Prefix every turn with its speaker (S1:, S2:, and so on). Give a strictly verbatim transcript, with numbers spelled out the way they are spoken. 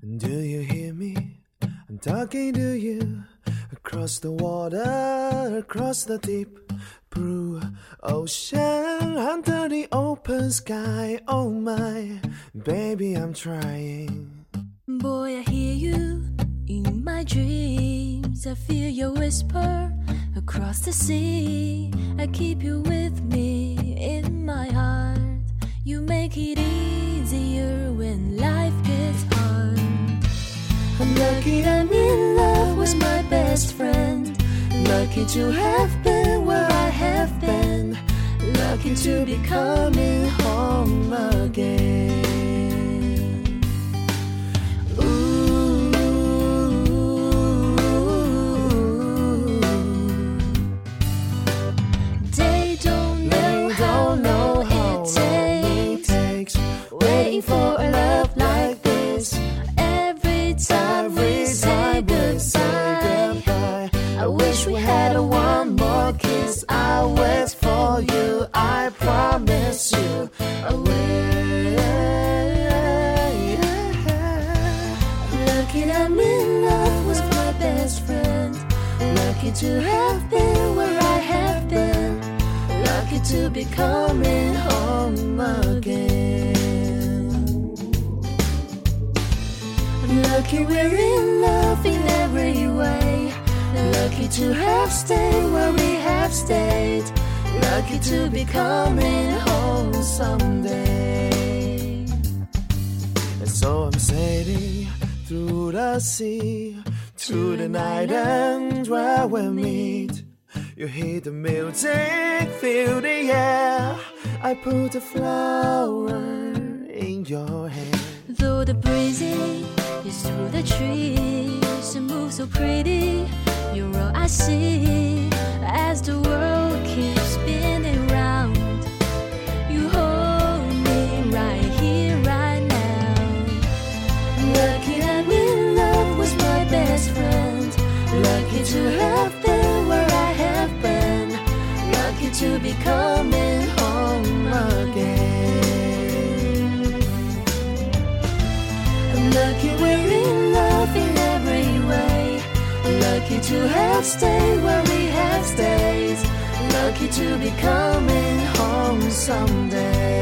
S1: Do you hear me? I'm talking to you across the water, across the deep blue ocean, under the open sky. Oh my, baby, I'm trying.
S2: Boy, I hear you in my dreams. I feel your whisper across the sea. I keep you with me in my heart. You make it easier when life gets hard. I'm lucky I'm in love with my best friend. Lucky to have been where I have been. Lucky to be coming home again. They don't know how long it takes waiting for a love like this. Every time we say goodbye, I wish we had a one more kiss. I'll wait for you, I promise you I will. Lucky I'm in love with my best friend. Lucky to have been where I have been. Lucky to be coming home again. Lucky we're in love in every way. Lucky to have stayed where we have stayed. Lucky to be coming home someday.
S1: And so I'm sailing through the sea to the night end where we meet. You hear the music, feel the air. I put a flower in your hair.
S2: Though the breezy is through the trees and move so pretty, you're all I see as the world keeps spinning round. You hold me right here, right now. Lucky I'm in love with my best friend. Lucky to have been where I have been. Lucky to be coming home again. I'm lucky we're in love in every way. Lucky to have stayed where we have stayed. Lucky to be coming home someday.